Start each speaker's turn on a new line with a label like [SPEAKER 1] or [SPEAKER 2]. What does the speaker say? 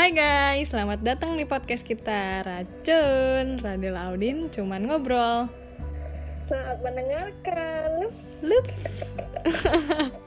[SPEAKER 1] Hai guys, selamat datang di podcast kita Racun Radil Audin, cuman ngobrol.
[SPEAKER 2] Selamat mendengarkan.
[SPEAKER 1] Lup.